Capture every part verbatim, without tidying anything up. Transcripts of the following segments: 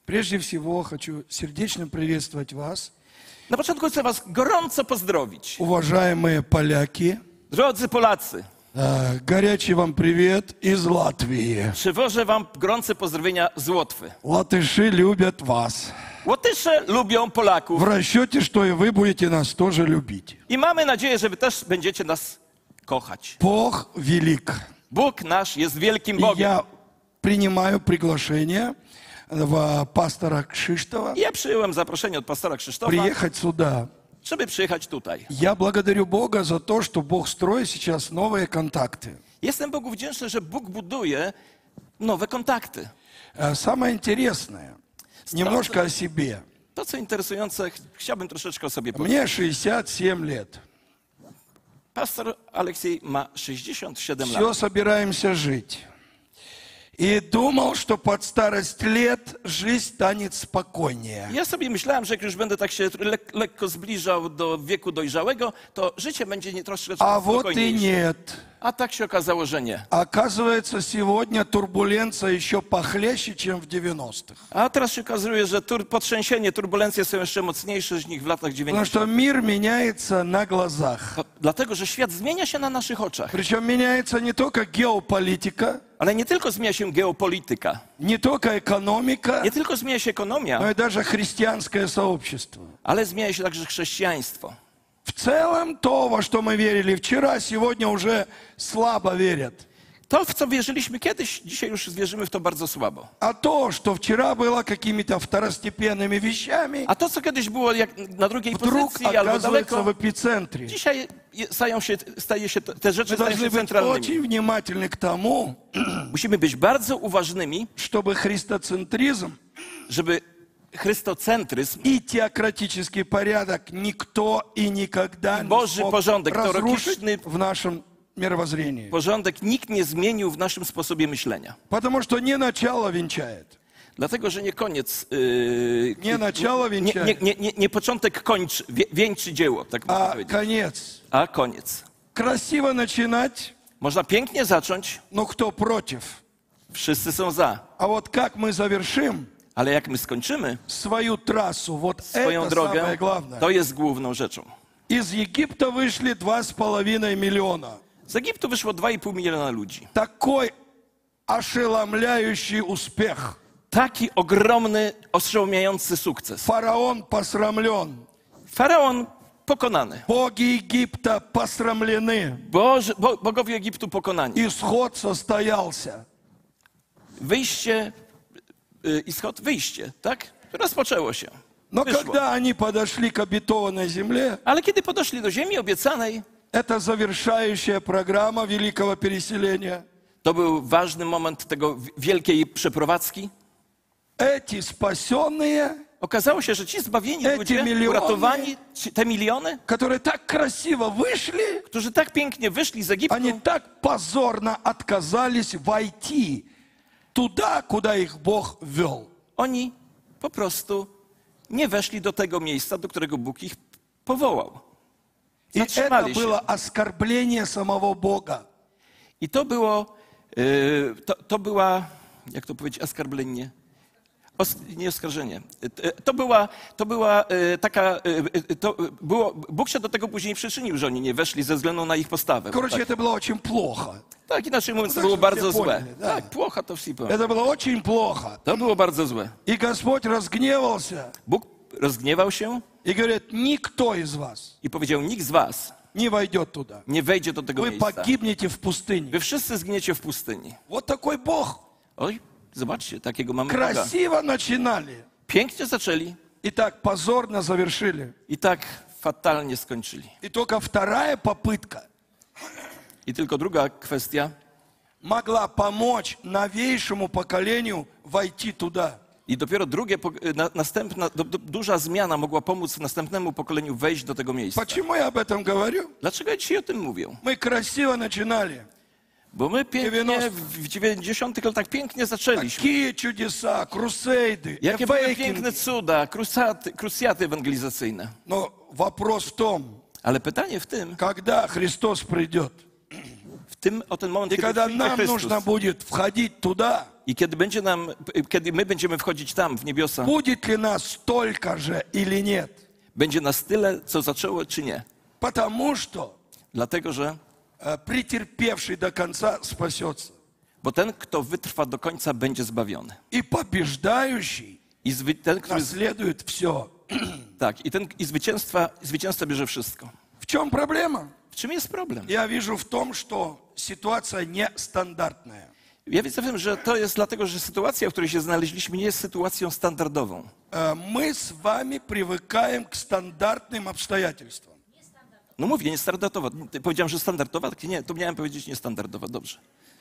Прежде всего хочу сердечно приветствовать вас, Na początku chcę was gorąco pozdrowić. уважаемые поляки. Drodzy Polacy, Э, Горячий вам привет из Латвии. przywożę wam gorące pozdrowienia z Łotwy. Латыши любят вас. Łotysze lubią В Polaków расчете, что и вы будете нас тоже любить. i mamy nadzieję, że wy też będziecie nas kochać. Бог велик. Bóg nasz jest wielkim И Bogiem. я принимаю приглашение в пастора Кшиштова I ja przyjąłem zaproszenie od pastora Krzysztofa, приехать сюда. żeby przyjechać tutaj. Я благодарю Бога за то, что Бог строит сейчас новые контакты. Jestem Bogu wdzięczny, że Bóg buduje nowe kontakty. Э, Самое интересное, немножко о себе. To, co interesujące, ch- chciałbym troszeczkę o sobie powiedzieć. Мне шестьдесят семь лет. Pastor Aleksiej ma sześćdziesiąt siedem Все, lat. собираемся жить. И думал, что под старость лет жизнь станет спокойнее. Ja sobie myślałem, że jak już będę tak się lek- lekko zbliżał do wieku dojrzałego, to życie będzie nie troszeczkę А вот и spokojniejsze. нет. A tak się okazało, że nie. Оказывается, сегодня турбуленция еще похлеще, чем в девяностых. A teraz się okazuje, że tur- potrzęsienie, turbulencje są jeszcze mocniejsze niż w latach Потому dziewięćdziesiątych. что мир меняется на глазах. To Dlatego, że świat zmienia się na naszych oczach. Причем меняется не только геополитика, Ale nie tylko zmienia się geopolityka, не только экономика, nie tylko zmienia się ekonomia, но и даже христианское сообщество. ale zmienia się także chrześcijaństwo. В целом то, во что мы верили вчера, сегодня уже слабо верят. To, w co wierzyliśmy kiedyś, dzisiaj już wierzymy w to bardzo słabo. А то, что вчера было какими-то второстепенными вещами, A to, co kiedyś było jak na drugiej вдруг pozycji albo оказывается daleko, в эпицентре. dzisiaj je- stają się, staje się, te rzeczy Мы stają должны się быть centralnymi. очень внимательны к тому, Musimy być bardzo uważnymi, чтобы христоцентризм żeby chrystocentryzm, и теократический порядок никто и никогда не Boży смог porządek, разрушить teologiczny в нашем мировоззрении. porządek nikt nie zmienił w naszym sposobie myślenia. Потому что не начало венчает. Dlatego, że nie koniec, yy, Nie начало nie, wieńczenia. nie, nie, nie, nie początek kończy, wie, wieńczy dzieło, tak można А powiedzieć, конец. a koniec. Красиво начинать, Można pięknie zacząć, но кто против? wszyscy są za, А вот как мы завершим ale jak my skończymy свою трассу, вот swoją это самое drogę, главное. to jest główną rzeczą. Из Египта вышли два с половиной миллиона. Z Egiptu wyszło dwa i pół miliona ludzi. Такой ошеломляющий успех. Taki ogromny, oszałamiający sukces. Фараон посрамлен. Faraon pokonany. Боги Египта посрамлены. Boży, bo, bogowie Egiptu pokonani. Исход состоялся. Wyjście, y, ischod, wyjście, tak? Rozpoczęło się. Но Wyszło. когда они подошли к обетованной земле, Ale kiedy podeszli do ziemi obiecanej, это завершающая программа великого переселения. to był ważny moment tego wi- wielkiej przeprowadzki. Эти спасенные, Okazało się, że ci zbawieni Eci ludzie, miliony. uratowani, ci- te miliony, которые так красиво вышли, którzy tak pięknie wyszli z Egiptu, они так позорно отказались войти туда, куда их Бог вел. oni po prostu nie weszli do tego miejsca, do którego Bóg ich powołał. И это Zatrzymali się. было оскорбление самого Бога. I to było, yy, to, to była, jak to powiedzieć, oskarblenie, Os, nie oskarżenie. Yy, To była, to była yy, taka, yy, yy, to było, Bóg się do tego później przyczynił, że oni nie weszli ze względu na ich postawę. Короче, Tak, это было очень плохо. tak inaczej mówiąc, to tak, było żeby bardzo się złe. poняли, tak. Tak, płocha to wszyscy powiem. Это было очень плохо. To było bardzo złe. И Господь разгневался Bóg rozgniewał się и говорит, никто из вас i powiedział, nikt z was не войдет туда. nie wejdzie do tego Вы miejsca. погибнете в пустыне. Wy wszyscy zginiecie w pustyni. Вот такой Бог. Oj, zobaczcie, takiego mamy Boga. Красиво начинали. Pięknie zaczęli И так позорно завершили. i tak fatalnie skończyli. И только вторая попытка I tylko druga kwestia. могла помочь новейшему поколению войти туда. I dopiero drugie, pok- na, następna, do, do, duża zmiana mogła pomóc następnemu pokoleniu wejść do tego miejsca. Почему я об этом говорю? Dlaczego ja dzisiaj o tym mówię? Мы красиво начинали. Bo my pięknie dziewięćdziesiątych. w dziewięćdziesiątych latach pięknie zaczęliśmy. Такие чудеса, крусейды, Jakie były эвейкинги. piękne cuda, krusaty, krusjaty ewangelizacyjne. Но вопрос в том, Ale pytanie w tym, когда Христос придет. w tym, o ten moment, И kiedy когда przyjdzie нам Chrystus. нужно будет входить туда, I kiedy będzie nam, kiedy my będziemy wchodzić tam, w niebiosa, будет ли нас столько же или нет? będzie nas tyle, co zaczęło, czy nie. Потому что Dlatego, że э, претерпевший до конца спасется. bo ten, kto wytrwa do końca, będzie zbawiony. И побеждающий I zwy, ten, który, наследует все. tak, i ten i zwycięstwa, zwycięzca bierze wszystko. В чем проблема? W czym jest problem? Я вижу в том, что ситуация нестандартная. Ja widzę w tym, że to jest dlatego, że sytuacja, w której się znaleźliśmy, nie jest sytuacją standardową. Э, Мы с вами привыкаем к стандартным обстоятельствам. No mówię, niestandardowa. Powiedziałem, że standardowa, tak nie, to miałem powiedzieć niestandardowa, dobrze.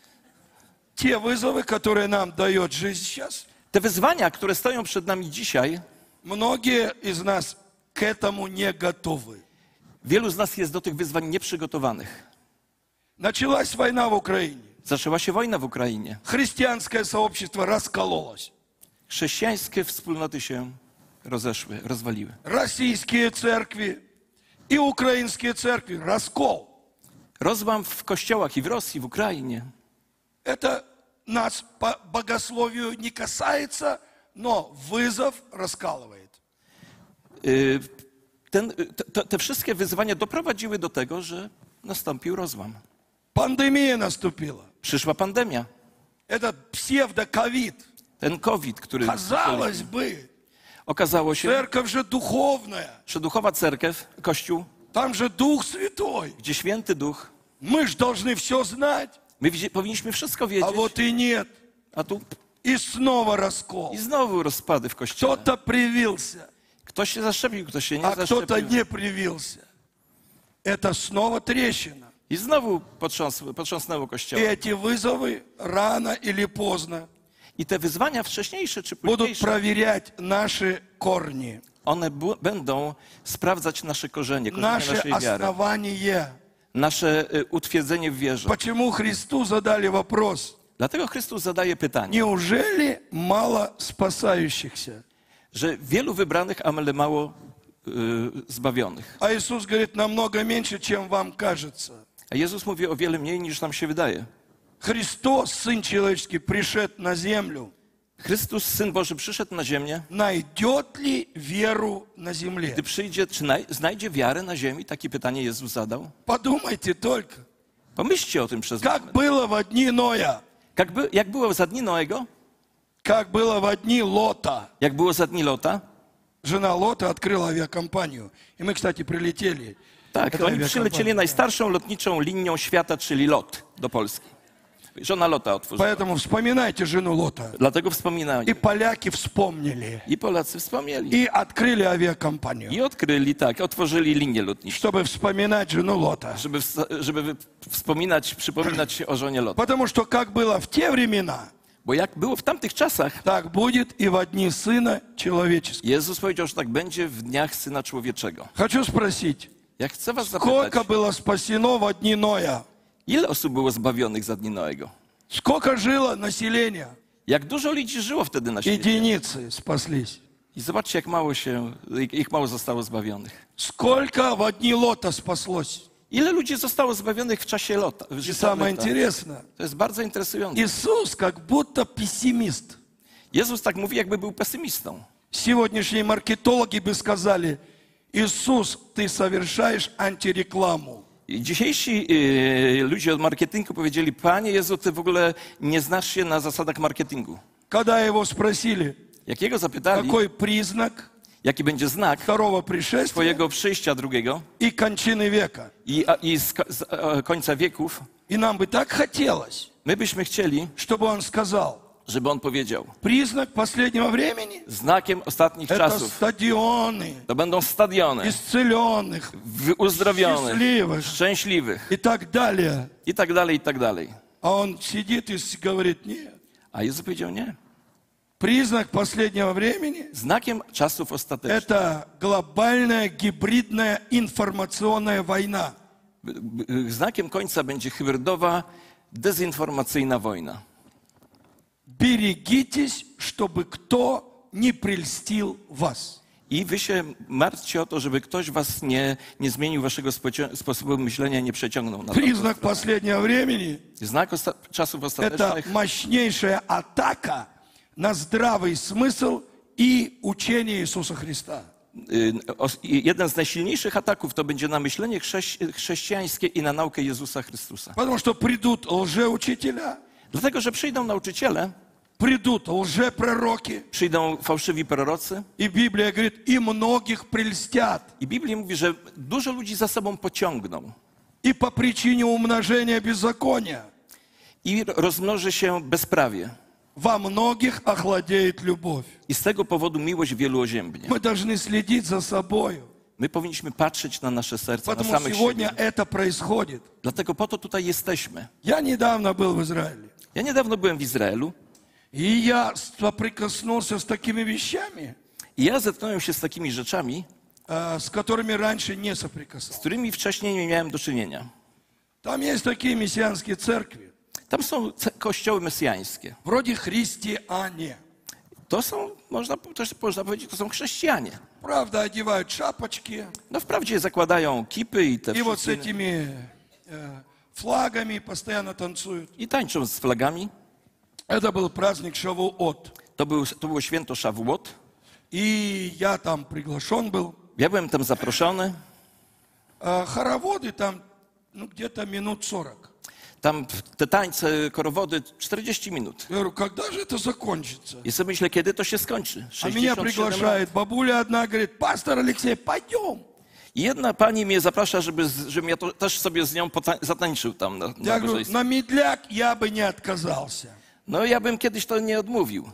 Те вызовы, которые нам дает жизнь сейчас, Te wyzwania, które stoją przed nami dzisiaj, многие из нас к этому не готовы. wielu z nas jest do tych wyzwań nieprzygotowanych. Началась война в Украине. Zaczęła się wojna w Ukrainie. Христианское сообщество раскололось. Chrześcijańskie wspólnoty się rozeszły, rozwaliły. Российские церкви и украинские церкви. Раскол. Rozłam w kościołach i w Rosji, w Ukrainie. Это нас по богословию не касается, но вызов раскалывает. Y, Ten, te, te wszystkie wyzwania doprowadziły do tego, że nastąpił rozłam. Пандемия наступила. Przyszła pandemia. Этот псевдоковид. Ten COVID, który Казалось бы, okazało się, церковь же духовная. że duchowa cerkiew, Kościół, Там же Дух Святой. gdzie Święty Duch, Мы же должны все знать. my widzi- powinniśmy wszystko А wiedzieć, вот и нет. a tu И снова раскол. i znowu rozpady w Kościele. Кто-то привился, Ktoś się zaszczepił, ktoś się nie а кто-то zaszczepił. не привился. Это снова трещина. I znowu potrząs, potrząsnęło И Kościołem. эти вызовы рано или поздно I te wyzwania wcześniejsze czy будут późniejsze, проверять наши корни, one bu- będą sprawdzać nasze korzenie, korzenie наше naszej wiary, основание. nasze y, utwierdzenie w wierze. Почему Христу задали вопрос? Dlatego Chrystus zadaje pytanie, Неужели мало спасающихся? że wielu wybranych, ale mało y, zbawionych. А Иисус говорит, намного меньше, чем вам кажется. A Jezus mówi o wiele mniej niż nam się wydaje. Христос, Сын Человеческий, пришед на землю. Chrystus, Syn Boży, przyszedł na ziemię. Найдет ли веру на земле? Gdy przyjdzie, czy naj, znajdzie wiarę na ziemi? Takie pytanie Jezus zadał. Подумайте только, Pomyślcie o tym przez как moment. было в дни Ноя, Jak, by, jak było za dni Noego? как было в дни Лота. Jak było za dni Lota? Жена Лота открыла авиакомпанию. И мы, кстати, прилетели. Tak, Эта oni авиакомпания. przylecieli najstarszą lotniczą linią świata, czyli LOT do Polski. Żona Lota otworzyła. Поэтому вспоминайте жену Лота. Dlatego wspominali. И поляки вспомнили. I Polacy wspomnieli. И открыли авиакомпанию, I odkryli, tak, otworzyli linię lotniczą, чтобы вспоминать жену Лота. żeby, ws- żeby wy- wspominać, przypominać się o żonie Lota. Потому что как было в те времена, Bo jak było w tamtych czasach, так будет и в дни Сына Человеческого. Jezus powiedział, że tak będzie w dniach Syna Człowieczego. Хочу спросить, Ja chcę was zapytać, сколько было спасено в дни Ноя? ile osób było zbawionych za dni Noego? Сколько жило населения? Jak dużo ludzi żyło wtedy na świecie? Единицы спаслись. I zobaczcie, jak mało się, ich mało zostało zbawionych. Сколько в дни Лота спаслось? Ile ludzi zostało zbawionych w czasie Lota? W И życiu самое Lota? интересное, To jest bardzo interesujące. Иисус как будто пессимист. Jezus tak mówi, jakby był pesymistą. Сегодняшние маркетологи бы сказали, Иисус, ты совершаешь антирекламу. I dzisiejsi y, ludzie od marketingu powiedzieli, Panie Jezu, Ty w ogóle nie znasz się na zasadach marketingu. Когда его спросили, Jakiego zapytali, какой признак jaki będzie znak второго пришествия Twojego przyjścia drugiego и кончины века. i, a, i z, z a, końca wieków, И нам бы так хотелось, my byśmy chcieli, чтобы он сказал, żeby On powiedział, признак последнего времени znakiem ostatnich – это czasów стадионы to będą stadiony исцеленных w- uzdrowionych, счастливых szczęśliwych и так далее. i tak dalej, i tak dalej. А он сидит и говорит, нет. A Jezus powiedział nie. Признак последнего времени Znakiem czasów – ostatecznych, это глобальная гибридная информационная война. b- b- znakiem końca będzie hybrydowa, dezinformacyjna wojna. Берегитесь, чтобы кто не прельстил вас. I wy się martwcie o to, żeby ktoś was nie, nie zmienił waszego spocio- sposobu myślenia, nie przeciągnął na to. Признак последнего времени Znak osta- czasów – это ostatecznych мощнейшая атака на здравый смысл и учение Иисуса Христа. y, os- i jeden z najsilniejszych ataków to będzie na myślenie chrześci- chrześcijańskie i na naukę Jezusa Chrystusa. Потому что придут лжеучителя, Dlatego, że przyjdą nauczyciele, придут лжепророки, przyjdą fałszywi prorocy и Библия говорит, и многих прельстят. i Biblia mówi, że dużo ludzi za sobą pociągną И по причине умножения беззакония i rozmnoży się bezprawie. во многих охладеет любовь. I z tego powodu miłość wielu oziębnie. Мы должны следить за собой, My powinniśmy patrzeć na nasze serca, na потому samych сегодня siebie. это происходит. Dlatego po to tutaj jesteśmy. Я недавно был в Израиле, Ja niedawno byłem w Izraelu и я соприкоснулся с такими вещами, i ja zetknąłem się z takimi rzeczami, э, с которыми раньше не z соприкасался. którymi wcześniej nie miałem do czynienia. Там есть такие мессианские церкви, Tam są ce- kościoły mesjańskie. вроде христиане. To są, można, też można powiedzieć, to są chrześcijanie. Правда, одевают шапочки, No wprawdzie zakładają kipy i te и вот с wszystkie, этими э, флагами постоянно танцуют. i tańczą z flagami. Это был праздник Шавуот. To, był, to było święto Szawuot. И я там приглашен был. Ja byłem tam zaproszony. А хороводы там, ну, где-то минут сорок. Tam te tańce, korowody, czterdzieści minut. Я говорю, когда же это закончится? I sobie myślę, kiedy to się skończy. А меня sześćdziesiąt siedem lat. приглашает бабуля одна, говорит, пастор Алексей, пойдем. I jedna pani mnie zaprasza, żeby, z- żebym ja to, też sobie z nią pota- zatańczył tam na, na Я говорю, nabożeństwie. на медляк я бы не отказался. No ja bym kiedyś to nie odmówił,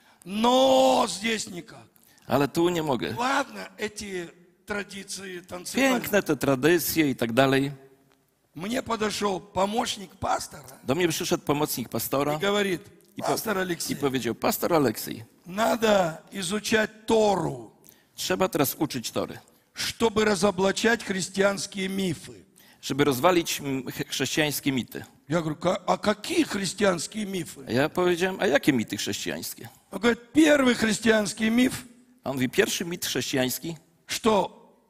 Но здесь никак. ale tu nie mogę. Ладно, эти традиции танцевали. Piękne te tradycje i tak dalej. Мне подошел помощник пастора Do mnie przyszedł pomocnik pastora и говорит, i, po, пастор i Алексей, powiedział, pastor Aleksiej, надо изучать Тору, trzeba teraz uczyć Tory, чтобы разоблачать христианские мифы. żeby rozwalić mm, ch- chrześcijańskie mity. Я говорю, «Ка- а какие христианские мифы? A ja powiedziałem, a jakie mity chrześcijańskie? Он говорит, первый христианский миф, A on mówi, pierwszy mit chrześcijański, что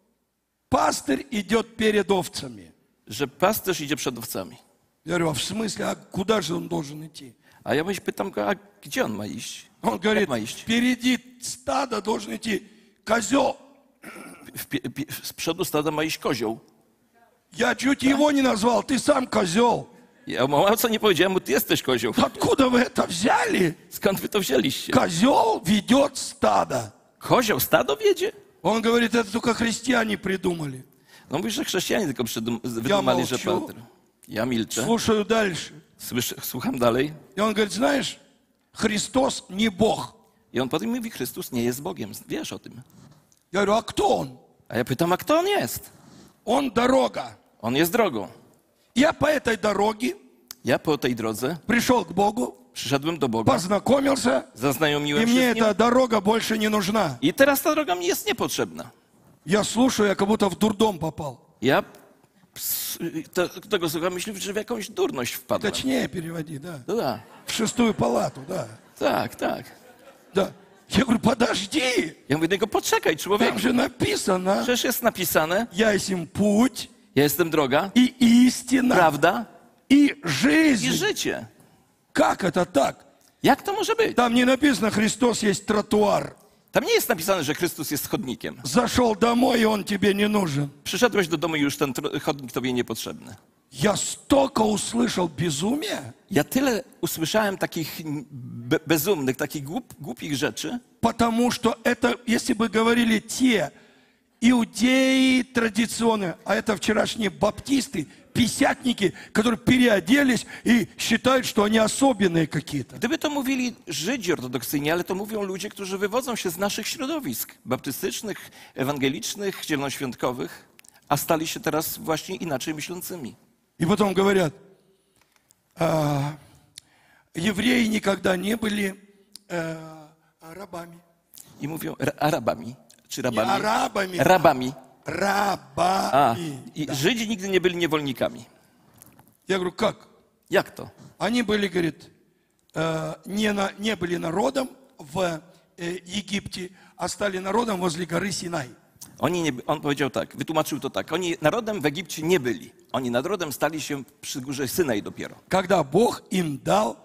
пастырь идет перед овцами. że pasterz idzie przed owcami. Я говорю, а в смысле, а куда же он должен идти? A ja pytam go, a gdzie on ma iść? Он говорит, Jak ma iść? впереди стада должен идти козел. W, pie- pie- z przodu stada ma iść kozioł. Я чуть его не назвал, ты сам козел. Ja mu co nie powiedziałem, mu ty jesteś kozioł. Откуда вы это взяли? Skąd wy to wzięliście? Козел ведет стадо. Kozioł stado wiedzie? Он говорит, это только христиане придумали. No mówisz, że chrześcijanie tylko przydum- wydumali, że молчу. Petr. Ja milczę, Слушаю дальше. słyszę, słucham dalej. И он говорит, знаешь, Христос не Бог. I on potem mówi, Chrystus nie jest Bogiem. Wiesz o tym. Я говорю, а кто он? A ja pytam, a kto on jest? Он дорога. On jest drogą. Я по этой дороге Ja po tej drodze пришел к Богу, przyszedłem do Boga, познакомился, и zaznajomiłem się мне z Nim эта дорога больше не нужна. i teraz ta droga mi jest niepotrzebna. Я слушаю, я как будто в дурдом попал. Ja ps- te, tego słucham, myślę, że w jakąś durność wpadłem. Точнее переводи, да. No da, В шестую палату, да. tak, tak. Да. Я говорю, подожди, Ja mówię do niego, poczekaj там człowieku, же написано, przecież jest napisane, я есть путь ja jestem droga, и истина, prawda и i жизнь. życie. Как это так? Jak to może być? Там не написано, Христос есть тротуар. Tam nie jest napisane, że Chrystus jest chodnikiem. Зашел домой, и он тебе не нужен. Przyszedłeś do domu i już ten tro- chodnik tobie niepotrzebny. Я столько услышал безумия, Ja tyle usłyszałem takich be- bezumnych, takich głup, głupich rzeczy, потому что это, если бы говорили те иудеи традиционные, а это вчерашние баптисты, писятники, которые переоделись и считают, что они особенные какие-то. gdyby to mówili Żydzi ortodoksyjni, ale to mówią ludzie, którzy wywodzą się z naszych środowisk baptystycznych, ewangelicznych, zielonoświątkowych, a stali się teraz właśnie inaczej myślącymi. И потом говорят, а, евреи никогда не были а, рабами. I mówią ra- Arabami, czy Не rabami? арабами, Rabami. A, рабами. i Żydzi nigdy nie byli niewolnikami. Я говорю, как? Jak to? Они были, говорит, э, не, на- не были народом в э, Египте, а стали народом возле горы Синай. Oni nie, on powiedział tak, wytłumaczył to tak. Oni narodem w Egipcie nie byli. Oni narodem stali się przy górze Synaj dopiero. Когда Бог им дал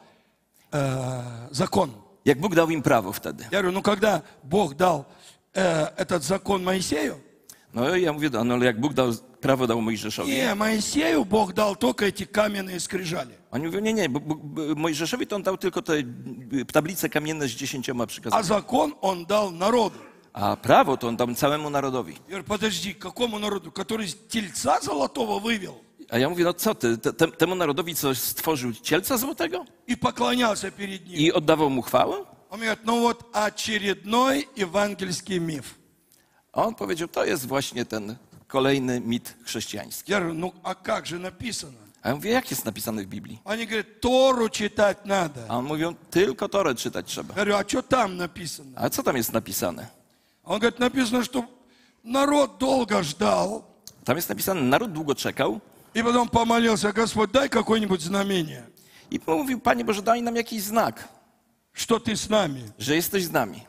э, закон. Jak Bóg dał im prawo wtedy. Я говорю, ну когда Бог дал э, этот закон Моисею, No i ja mówię, no ale jak Bóg dał prawo dał Mojżeszowi. не, Моисею Бог дал только эти каменные скрижали. Oni mówią, nie, nie, Bóg, Bóg, Mojżeszowi to on dał tylko te tablice kamienne z dziesięcioma А przykazami. закон он дал народу. A prawo to on dał całemu narodowi. Я говорю, подожди, какому народу? Который тельца золотого вывел A ja mówię, no co ty, te, te, temu narodowi coś stworzył cielca złotego и поклонялся перед ним. i oddawał mu chwałę? Он мне говорит, ну вот очередной евангельский миф. A on powiedział, to jest właśnie ten kolejny mit chrześcijański. Я говорю, ну а как же написано? A ja mówię, jak jest napisane w Biblii? Они говорят, Тору читать надо. A on mówią, tylko Torę czytać trzeba. Я говорю, а что там написано? A co tam jest napisane? Он говорит, написано, что народ долго ждал, Tam jest napisane, naród długo czekał и потом помолился, Господь, дай какое-нибудь знамение, i mówił, Panie Boże, daj nam jakiś znak, что ты с нами. że jesteś z nami.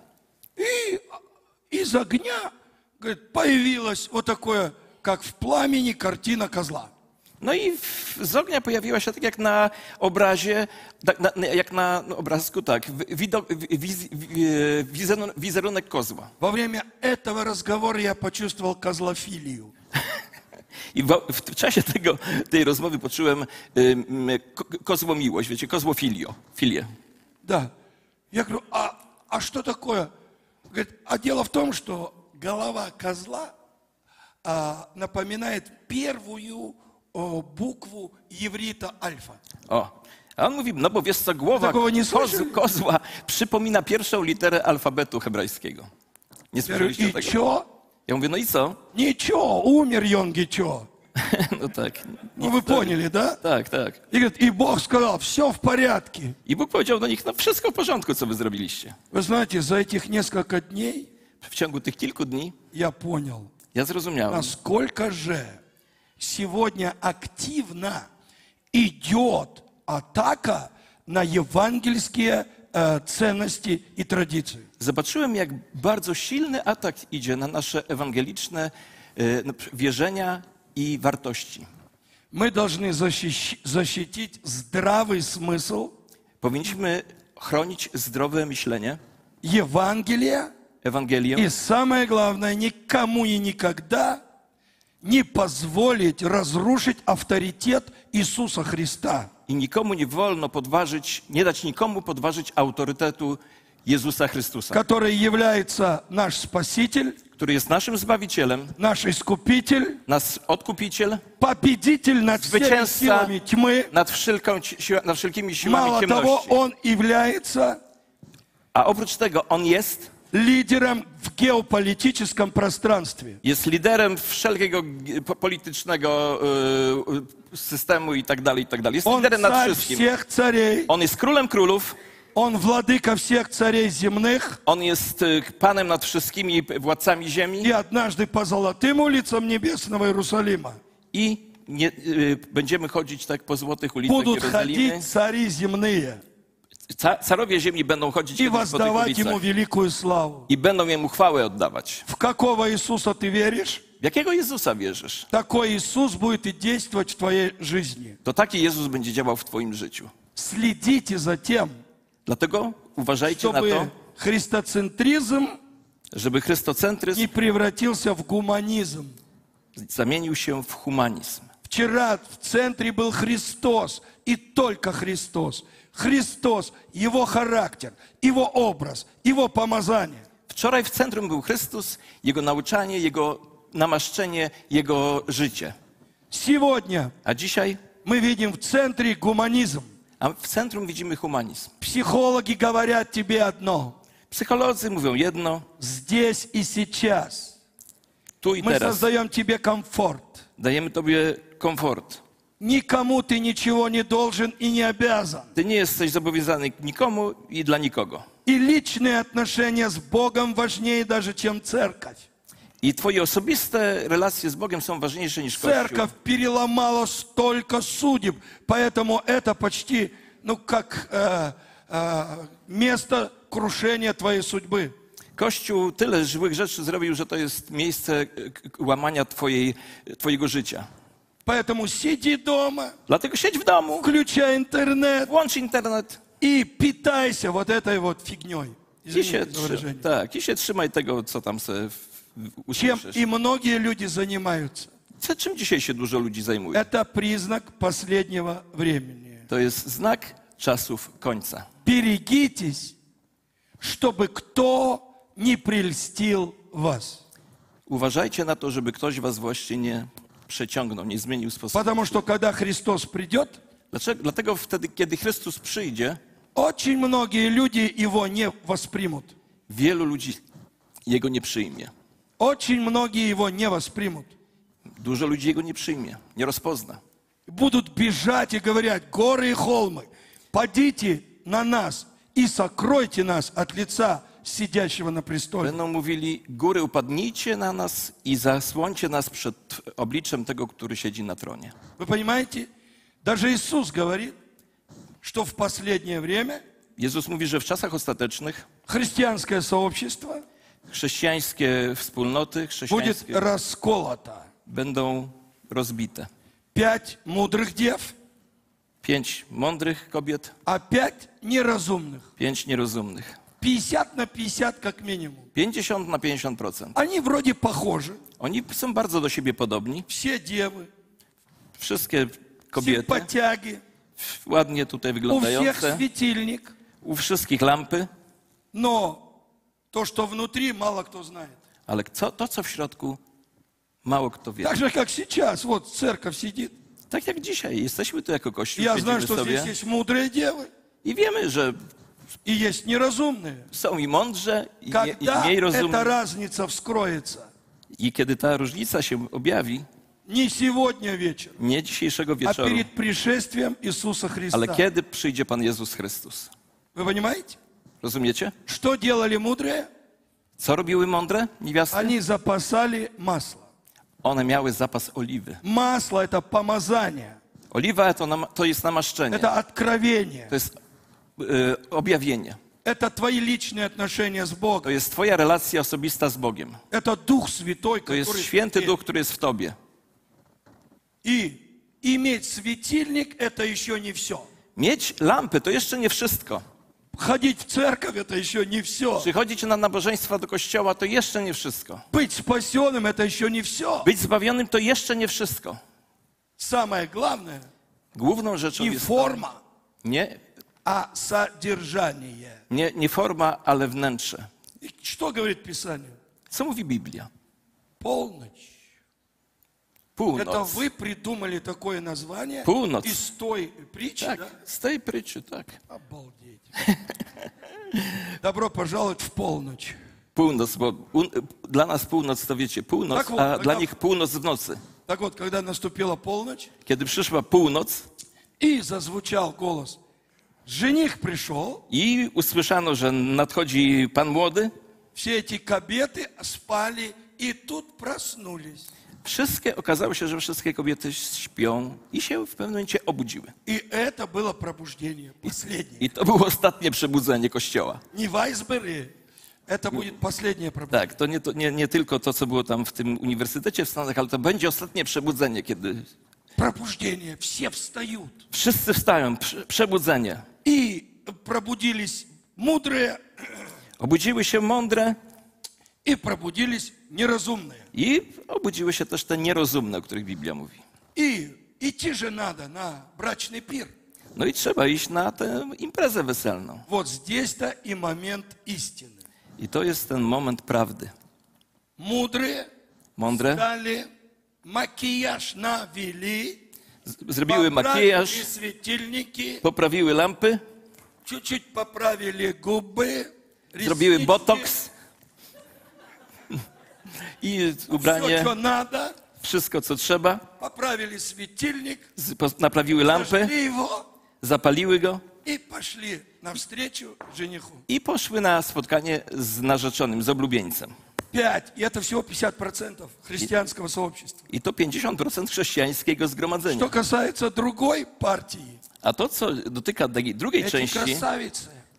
И из огня, говорит, появилось вот такое, как в пламени, картина козла. No i w- z ognia pojawiła się tak jak na obrazie, tak na, na- jak na no, obrazku, tak, widok, wiz, wi- wizerunek, wizerunek kozła. Во время этого разговора я почувствовал козлофилию. I w, w czasie tego, tej rozmowy poczułem ym, ko, kozło miłość, wiecie, kozło filio, filię. Да. Я говорю, а, а что такое? Говорит, а дело в том, что голова козла а, напоминает первую о, букву иврита альфа. O, a on mówi, no bo wiesz co, głowa Takiego nie koz, słyszeli? kozła przypomina pierwszą literę alfabetu hebrajskiego. Nie Я говорю, słyszeliście и tego? чё? Ja mówię, no i co? Ничего, умер Йонги, чё? No tak. Ну вы поняли, да? Tak, tak. И говорит, и Бог сказал, все в порядке. I Bóg powiedział do nich, no wszystko w porządku, co wy zrobiliście. Вы знаете, за этих несколько дней W ciągu tych kilku dni я понял, ja zrozumiałem, насколько же сегодня активно идет атака на евангельские э, ценности и традиции. zobaczyłem, jak bardzo silny atak idzie na nasze ewangeliczne e, no, wierzenia i wartości. Мы должны защищ- защитить здравый смысл Powinniśmy chronić zdrowe myślenie, Евангелия Ewangelię и, самое главное, никому и никогда не позволить разрушить авторитет Иисуса Христа, i nikomu nie wolno podważyć, nie dać nikomu podważyć autorytetu Jezusa Chrystusa, который является наш Спаситель, który jest naszym Zbawicielem, наш Искупитель, nasz Odkupiciel, победитель над всеми Zwycięzca силами тьмы. nad, wszelką, siła- nad wszelkimi siłami Мало того, ciemności. Он является A oprócz tego on jest, лидером в геополитическом пространстве. jest liderem wszelkiego g- po- politycznego e, systemu i tak dalej, i tak dalej. Jest Он liderem nad царь wszystkim. всех царей, On jest królem królów, Он владыка всех царей земных. on jest e, panem nad wszystkimi władcami ziemi И однажды по золотым улицам небесного Иерусалима i nie, e, będziemy chodzić tak po złotych ulicach будут Jerozolimy. ходить цари земные Ca, carowie ziemi będą chodzić и kiedyś po tych воздавать Ему ulicach великую славу. i będą Jemu chwałę oddawać. В какого Иисуса ты веришь? W jakiego Jezusa wierzysz? Такой Иисус будет и действовать в твоей жизни. To taki Jezus będzie działał w twoim życiu. Следите за тем, Dlatego uważajcie na to, чтобы христоцентризм żeby chrystocentryzm не превратился в гуманизм. zamienił się w humanizm. Вчера в центре был Христос, и только Христос. Христос, Его характер, Его образ, Его помазание. Wczoraj w centrum był Chrystus, Jego nauczanie, Jego namaszczenie, Jego życie. Сегодня A dzisiaj, мы видим в центре гуманизм. a w centrum widzimy humanizm. Психологи говорят тебе одно. Psycholodzy mówią jedno, Здесь и сейчас tu i мы teraz. создаем тебе комфорт. Dajemy Tobie komfort. Никому ты ничего не должен и не обязан. Ty nie jesteś zobowiązany nikomu i dla nikogo. И личные отношения с Богом важнее даже, чем церковь. I Twoje osobiste relacje z Bogiem są ważniejsze niż Kościół. Церковь переломала столько судеб, поэтому это почти, ну, как э, э, место крушения твоей судьбы. Kościół tyle złych rzeczy zrobił, że to jest miejsce k- k- łamania twojej, twojego życia. Поэтому сиди дома, Dlatego siedź w domu, включай интернет włącz internet и питайся вот этой вот фигней. i się, Извините за trzy, выражение. tak, i się trzymaj tego, co tam sobie w- w- Чем usłyszysz. и многие люди занимаются. Co- Czym dzisiaj się dużo ludzi zajmuje? Это признак последнего времени. To jest znak czasów końca. Берегитесь, чтобы кто не прельстил вас. Uważajcie na to, żeby ktoś was właśnie nie przeciągnął, nie zmienił sposobu. Потому что когда Христос придет, Dlaczego? Dlatego wtedy, kiedy Chrystus przyjdzie, очень многие люди Его не воспримут. wielu ludzi Jego nie przyjmie. Очень многие Его не воспримут. Dużo ludzi Jego nie przyjmie, nie rozpozna. Будут бежать и говорят: горы и холмы, падите на нас и сокройте нас от лица сидящего на престоле. Będą mówili, góry upadnijcie na nas i zasłońcie nas przed obliczem tego, który siedzi na tronie. Вы понимаете? Даже Иисус говорит, что в последнее время Jezus mówi, że w czasach ostatecznych христианское сообщество chrześcijańskie wspólnoty, будет chrześcijańskie расколото. będą rozbite. Пять мудрых дев, Pięć mądrych kobiet, а пять неразумных. pięć nierozumnych. пятьдесят на пятьдесят как минимум. pięćdziesiąt na pięćdziesiąt procent. Они вроде похожи. Oni są bardzo do siebie podobni. Все девы, Wszystkie kobiety, симпатяги, ładnie tutaj у всех wyglądające, светильник. u wszystkich lampy, Но то, что внутри, мало кто знает. ale co, to, co w środku, mało kto wie. Так же, как сейчас. Вот церковь сидит. Tak jak dzisiaj, jesteśmy tu jako Kościół, Я знаю, siedzimy что здесь sobie есть мудрые девы i wiemy, że и есть неразумные. są i mądrze, i, nie, i Когда mniej эта rozumni. разница вскроется? I kiedy ta różnica się objawi, Не сегодня вечером, nie dzisiejszego а wieczoru, перед пришествием Иисуса ale Христа. kiedy przyjdzie Pan Jezus Chrystus. Вы понимаете? Rozumiecie? Что делали мудрые? Co robiły mądre niewiasty? Они запасали масло. One miały zapas oliwy. Масло – это помазание, Oliwa to, nam, to jest namaszczenie, это откровение, to jest e, objawienie. это твои личные отношения с To Богом, jest twoja relacja osobista z Bogiem. это Дух Святой, To jest который... święty в тебе. Duch, który jest w tobie. И иметь светильник – это еще не все. Mieć lampy to jeszcze nie wszystko. Ходить в церковь – это еще не все. Przychodzić na nabożeństwa do kościoła to jeszcze nie wszystko. Быть спасенным – это еще не все. Być zbawionym to jeszcze nie wszystko. Самое главное Główną rzeczą не jest to, форма, nie, а содержание. nie, nie forma, ale wnętrze. И что говорит Писание? Co mówi Biblia? Полночь. Это Północ. вы придумали такое название Północ. из той притчи, Tak, да? z tej pryczy, tak. Обалдеть. Добро пожаловать в полночь. Północ, bo u, dla nas północ to wiecie, północ, Tak, a tak. dla nich północ w nocy. Так вот, когда наступила полночь, Kiedy przyszła północ и зазвучал голос, жених пришел, i usłyszano, że nadchodzi Pan Młody, все эти кабеты спали и тут проснулись. wszystkie, okazało się, że wszystkie kobiety śpią i się w pewnym momencie obudziły. И это было пробуждение последнее. I to było ostatnie przebudzenie Kościoła. Не в айсберге, это будет последнее пробуждение. Tak, to nie, to nie, nie tylko to, co było tam w tym uniwersytecie w Stanach, ale to będzie ostatnie przebudzenie, kiedy Пробуждение, все встают. wszyscy wstają, prze, przebudzenie. И пробудились мудрые, Obudziły się mądre и пробудились неразумные. i obudziły się też te nierozumne, o których Biblia mówi. И идти же надо на брачный пир. No i trzeba iść na tę imprezę weselną. Вот здесь-то и момент истины. I to jest ten moment prawdy. Мудрые Mądre дали, макияж навели, z- zrobiły поправили makijaż, светильники, poprawiły lampy, чуть-чуть поправили губы, zrobiły реснички, botoks i все, ubranie, что надо, wszystko co trzeba, поправили светильник, z- po- naprawiły lampy, зажгли его zapaliły go и пошли навстречу жениху. i poszły na spotkanie z narzeczonym, z oblubieńcem. Пять. И это всего пятьдесят процентов христианского сообщества. I to pięćdziesiąt procent chrześcijańskiego zgromadzenia. Что касается другой партии, A to, co dotyka tej drugiej эти części, красавицы,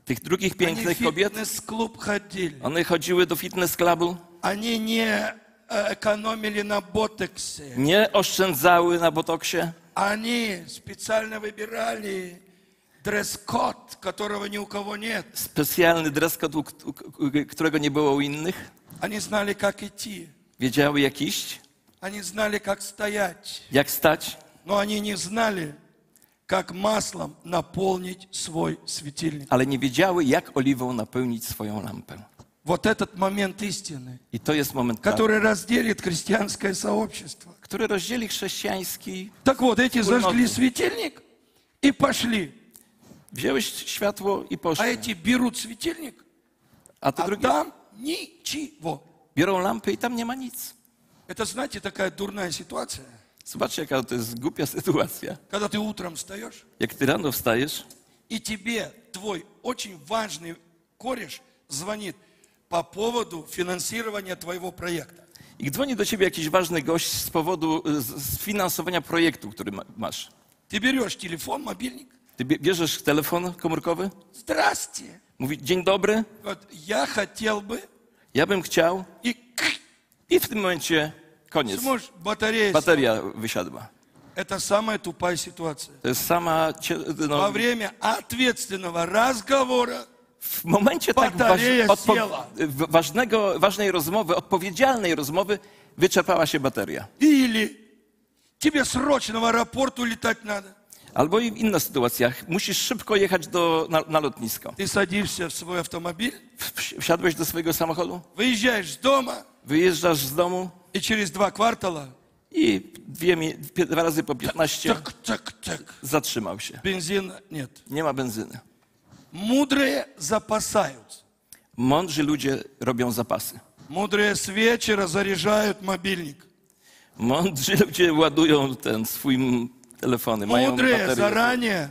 Tych drugich Они в pięknych kobiet, фитнес-клуб ходили. one chodziły do fitness clubu, Они не э, экономили на ботоксе. nie oszczędzały na botoksie, Они специально выбирали дресс-код, которого ни у кого нет. specjalny dress code, u- u- u- którego nie było u innych. Они знали, как идти. Wiedziały jak iść, Они знали, как стоять. jak stać, Но они не знали, как маслом наполнить свой светильник. ale nie wiedziały, jak oliwą napełnić swoją lampę. Вот этот момент истины, I to jest moment, prawdy, который разделит христианское сообщество. który rozdzieli chrześcijański. Так вот, эти Wspólnoty. зажгли светильник и пошли. Wzięły światło i А poszły. эти берут светильник, A te а drugie там ничего. biorą lampy i tam nie ma nic. Это, знаете, такая дурная ситуация. Zobaczcie, jaka to jest głupia sytuacja. Когда ты утром встаешь, Jak ty rano wstajesz и тебе твой очень важный кореш звонит по поводу финансирования твоего проекта. i dzwoni do ciebie jakiś ważny gość z powodu y, sfinansowania projektu, który ma, masz. Ты берешь телефон, мобильник. Ty bie- bierzesz telefon komórkowy, Здрасте. mówi dzień dobry, Вот я хотел бы. ja bym chciał И i w tym momencie koniec. смотришь, батарея. Bateria wysiadła. Это самая тупая ситуация. To jest sama, cie- Во no, время ответственного разговора w momencie tak waż, Bateria odpo, siela. w- ważnego, ważnej rozmowy, odpowiedzialnej rozmowy, wyczerpała się bateria. или тебе срочно в аэропорт улетать надо. Albo i w innych sytuacjach musisz szybko jechać do, na, na lotnisko. Ты садишься в свой автомобиль, W- Wsiadłeś do swojego samochodu, выезжаешь с дома, wyjeżdżasz z domu и через два квартала i dwie, mi- pie- dwa razy po piętnaście так, так, так. zatrzymał się. Бензина нет. Nie ma benzyny. Мудрые запасаются. Mądrzy ludzie robią zapasy. Мудрые с вечера заряжают мобильник. Mądrzy ludzie ładują ten swój m- telefony, mają Мудрые baterię. заранее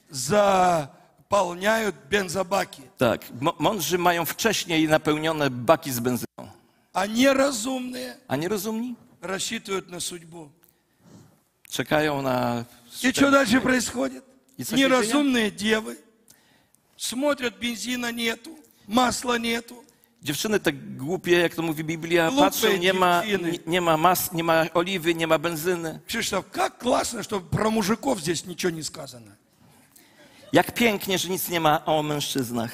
заполняют бензобаки. Tak, mo- mądrzy mają wcześniej napełnione baki z benzyną. А неразумные A nierozumni рассчитывают на судьбу. czekają na... И что дальше происходит? И что Неразумные девы смотрят, бензина нету, масла нету. Dziewczyny tak głupie, jak to mówi Biblia, Głupie patrzą, nie ma, dziewczyny. nie, nie ma mas, nie ma oliwy, nie ma benzyny. Кшиштоф, как классно, что про мужиков здесь ничего не сказано. Jak pięknie, że nic nie ma o mężczyznach.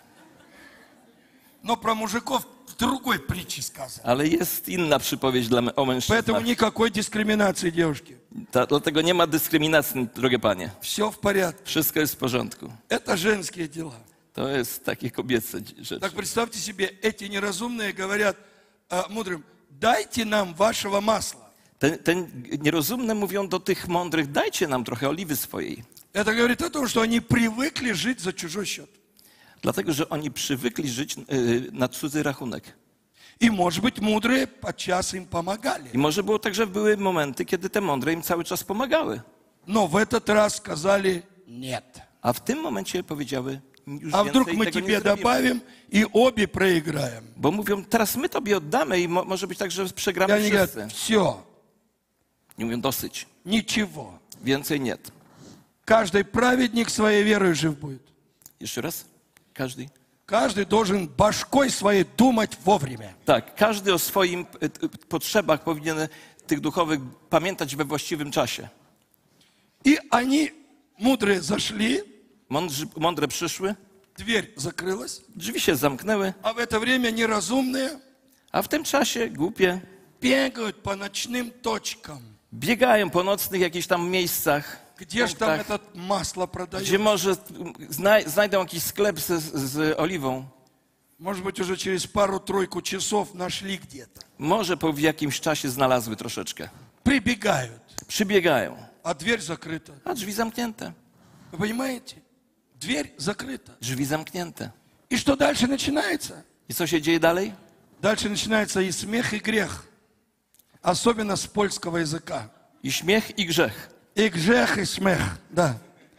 Но про мужиков в другой притче сказано. Ale jest inna przypowiedź dla, o Поэтому mężczyznach. никакой дискриминации, девушки. Ta, dlatego nie ma dyskryminacji, drogie panie. Все в порядке. Wszystko jest w porządku. Это женские дела. To jest takie kobiece rzeczy. Так представьте себе, эти неразумные говорят а, мудрым, дайте нам вашего масла. Ten, ten nierozumne mówią do tych mądrych, dajcie nam trochę oliwy swojej. Это говорит о том, что они привыкли жить за чужой счет. Dlatego, że oni przywykli żyć y, na cudzy rachunek. И, может быть, mудрые подчас им помогали. I może było tak, że były momenty, kiedy te mądre im cały czas pomagały. Но в этот раз сказали нет. A w tym momencie powiedziały, już А вдруг więcej мы tego тебе nie zrobimy. добавим и обе проиграем. Bo mówią, teraz my tobie oddamy i mo, może być tak, że И przegramy они говорят, wszyscy. все, Nie mówią, dosyć. ничего. Więcej nie. Каждый праведник своей верой жив будет. Jeszcze raz? Każdy? Каждый должен башкой своей думать вовремя. Tak, każdy o swoim y, y, potrzebach powinien tych duchowych pamiętać we właściwym czasie. И они, мудрые, зашли, Mądrzy, mądre przyszły, дверь закрылась, drzwi się zamknęły, а в это время неразумные a w tym czasie głupie бегают по ночным точкам. biegają po nocnych jakichś tam miejscach, Где же там punktach, это масло gdzie продают? może znaj, znajdą jakiś sklep z, z oliwą. Может быть, уже через пару-тройку часов нашли где-то. Może po w jakimś czasie znalazły troszeczkę. Прибегают, Przybiegają, а дверь закрыта. a drzwi zamknięte. Вы понимаете? Дверь закрыта. Drzwi zamknięte. И что дальше начинается? I co się dzieje dalej? Дальше начинается и смех, и грех. Особенно с польского языка. I śmiech, i grzech. И грех, и смех, да.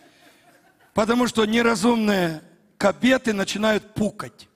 Потому что неразумные кабеты начинают пукать.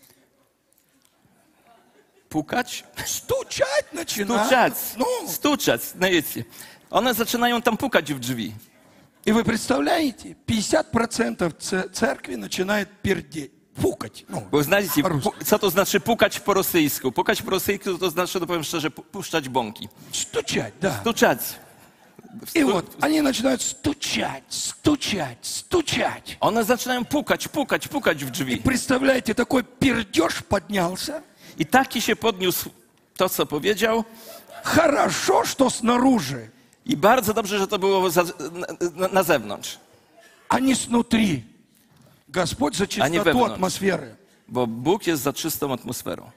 Pukać? Стучать начинают. Stuczać. Ну, Stuczać. No wiecie. One zaczynają tam pukać w drzwi. И вы представляете, пятьдесят процентов ц- церкви начинает пердеть, фукать. Ну, Bo znajdziecie, по-русски. pu- co to znaczy pukać po rosyjsku? Pukać po rosyjsku to znaczy, no powiem szczerze, pu- puszczać bąki. Стучать, да. Stuczać. И вот они начинают стучать, стучать, стучать. One zaczynają pukać, pukać, pukać w И drzwi. представляете, такой пердеж поднялся. I taki się podniósł to, co powiedział. Хорошо, что снаружи, I bardzo dobrze, że to było za, na, na zewnątrz. а не снутри. Господь за А не чистоту внутрь. атмосферы. Bo Bóg jest za czystą atmosferą.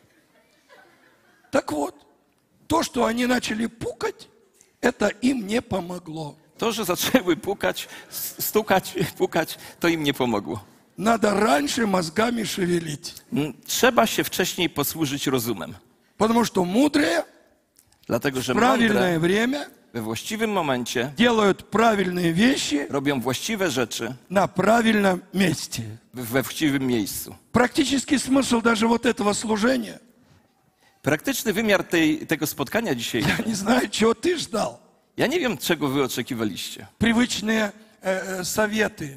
Так вот, то, что они начали пукать, это им не помогло. To, że zaczęły pukać, stukać, pukać, to im nie pomogło. Надо раньше мозгами шевелить. Mm, Trzeba się wcześniej posłużyć rozumem. Потому что мудрые Dlatego, że в правильное mądre время we właściwym momencie делают правильные вещи robią właściwe rzeczy на правильном месте. we właściwym miejscu. Практический смысл даже вот этого служения. Praktyczny wymiar tej, tego spotkania dzisiaj. Я не знаю, чего ты ждал. Ja nie wiem, czego wy oczekiwaliście. Привычные э, э, советы.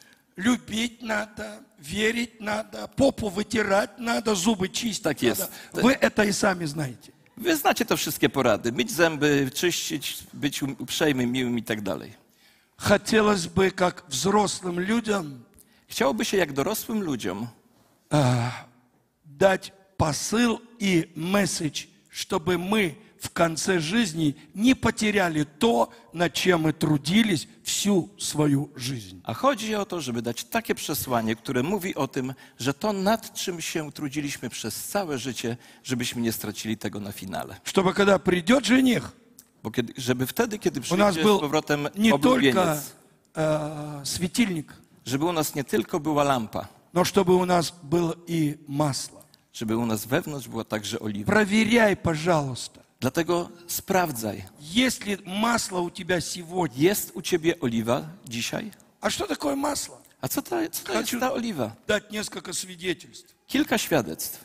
Любить надо, верить надо, попу вытирать надо, зубы чистить Так надо. есть. Вы это и сами знаете. Wy znacie te wszystkie porady. Myć zęby, czyścić, być uprzejmym, miłym i tak dalej. Хотелось бы, как взрослым людям, Chciałoby się jak dorosłym ludziom э, дать посыл и месседж, чтобы мы в конце жизни не потеряли то, над чем мы трудились всю свою жизнь. A chodzi o to, żeby dać takie przesłanie, które mówi o tym, że to nad czym się trudziliśmy przez całe życie, żebyśmy nie stracili tego na finale. Чтобы когда придет жених, Bo kiedy, żeby wtedy, kiedy у нас przyjdzie z был powrotem не только oblubieniec, э, светильник, żeby u nas nie tylko była lampa, но чтобы у нас было и масло. żeby u nas wewnątrz była także oliwa. Проверяй, пожалуйста. Dlatego sprawdzaj, Есть ли масло у тебя сегодня? jest u ciebie oliwa dzisiaj? А что такое масло? A co to, co to jest Хочу ta oliwa? дать несколько свидетельств. Kilka świadectw.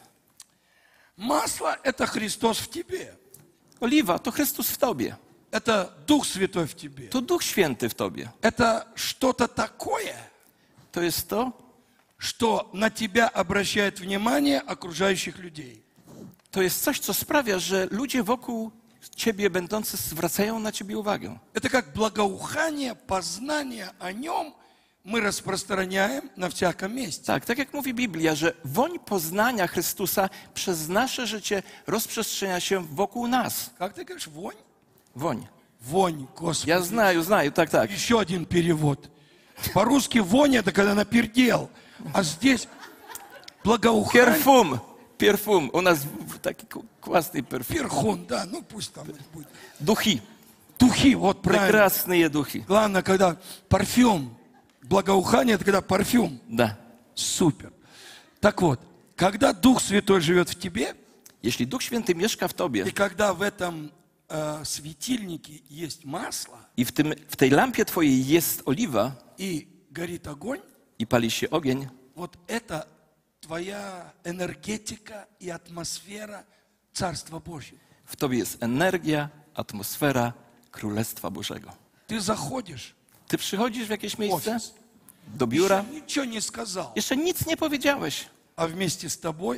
Масло – это Христос в тебе. Oliwa to Chrystus w tobie. Это Дух Святой в тебе. To Duch Święty w tobie. Это что-то такое, To jest to, что на тебя обращает внимание окружающих людей. to jest coś, co sprawia, że ludzie wokół ciebie będący zwracają na ciebie uwagę. Это как благоухание, познание о нем мы распространяем на всяком месте. Tak, tak jak mówi Biblia, że woń poznania Chrystusa przez nasze życie rozprzestrzenia się wokół nas. Как ты говоришь, вонь? Woń. Вонь, Господи. Ja znаю, znаю, tak, tak. Еще один перевод. По-русски вонь – это когда напердел, а здесь благоухание. Perfum, perfum. U nas w- taki ku- kłasny perfum. Перхун, да, ну пусть там будет. Duchi. Духи, вот правильно. Прекрасные duchi. Главное, когда парфюм, благоухание – это когда парфюм. Da. Супер. Так вот, когда Дух Святой живет в тебе, Jeśli Duch Święty mieszka w tobie и когда в этом э, светильнике есть масло i w, tym, w tej lampie twojej jest oliwa и горит огонь, i pali się ogień, вот это твоя энергетика и атмосфера Царства Божьего. w tobie jest energia, atmosfera Królestwa Bożego. Ты заходишь Ty przychodzisz w jakieś в miejsce, офис, do biura, еще ничего не сказал, jeszcze nic nie powiedziałeś, а вместе с тобой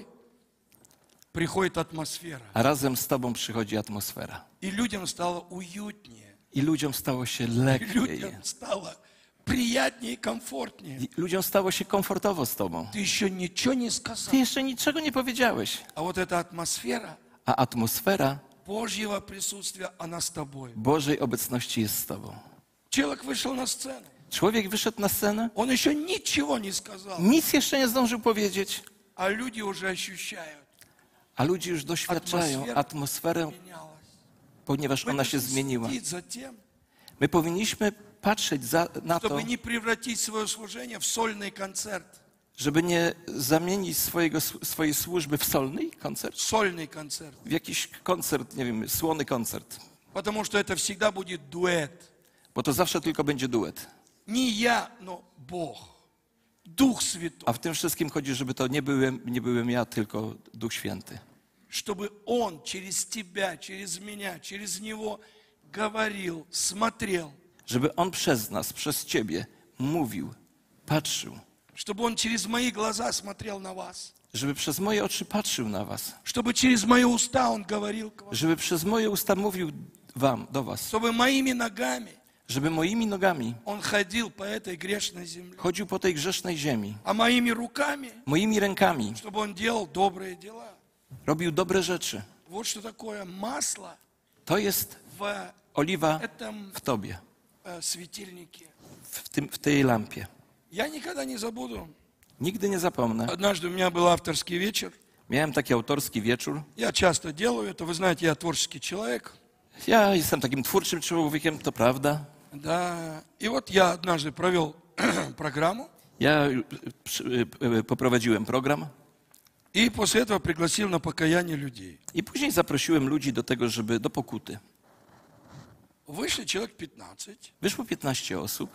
приходит атмосфера. a razem z tobą przychodzi atmosfera. И людям стало уютнее, I ludziom stało się и lepiej. людям стало приятнее и комфортнее. I ludziom stało się komfortowo z tobą. Ты еще ничего не сказал. Ty jeszcze niczego nie powiedziałeś, А вот эта атмосфера a atmosfera Божьего присутствия, она с тобой. Bożej obecności jest z tobą. Человек вышел на сцену, Człowiek wyszedł na scenę, он еще ничего не сказал, nic jeszcze nie zdążył powiedzieć, а люди уже ощущают, a ludzie już doświadczają Atmosfera- atmosferę, менялось. ponieważ Мы ona się должны zmieniła. следить за тем, My powinniśmy patrzeć za, na to, чтобы не превратить свое служение в сольный концерт. żeby nie zamienić swojego, swojej służby w solny koncert, Сольный концерт. w jakiś koncert, nie wiem, słony koncert, Потому что это всегда будет дуэт. bo to zawsze tylko będzie duet. Не я, но Бог. Дух Святой. A w tym wszystkim chodzi, żeby to nie byłem, nie byłem ja, tylko Duch Święty. Чтобы Он через тебя, через меня, через Него говорил, смотрел. żeby On przez nas, przez Ciebie mówił, patrzył, чтобы Он через мои глаза смотрел на вас, żeby przez moje oczy patrzył na was, чтобы через мои уста Он говорил к вам, żeby przez moje usta mówił wam, do was, чтобы моими ногами żeby moimi nogami Он ходил по этой грешной земле, chodził po tej grzesznej ziemi, а моими руками, moimi rękami чтобы Он делал добрые дела. robił dobre rzeczy. Вот что такое масло To jest в oliwa этом w tobie, э, светильнике. w, tym, w tej lampie. Я никогда не забуду. Nigdy nie zapomnę. Однажды у меня был авторский вечер. Miałem taki autorski wieczór. Я часто делаю это. Вы знаете, я творческий человек. Ja jestem takim twórczym człowiekiem, to prawda. Да. И вот я однажды провел программу. Ja przy- poprowadziłem program И после этого пригласил на покаяние людей. i później zaprosiłem ludzi do tego, żeby do pokuty. Вышли человек пятнадцать. Wyszło piętnaście osób.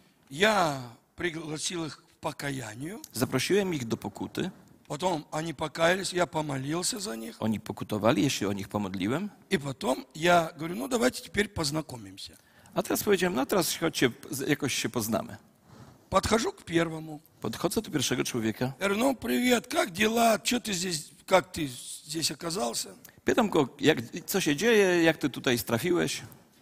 Я пригласил их к покаянию. Zaprosiłem ich do pokuty. Потом они покаялись, я помолился за них. Oni pokutowali, ja się o nich pomodliłem. И потом я говорю, ну давайте теперь познакомимся. A teraz powiedziałem, no teraz chodźcie, jakoś się poznamy. Подхожу к первому. Podchodzę do pierwszego człowieka. Я говорю, ну привет, как дела? Что ты здесь, как ты здесь оказался? Pytam go, jak, co się dzieje, jak ty tutaj trafiłeś.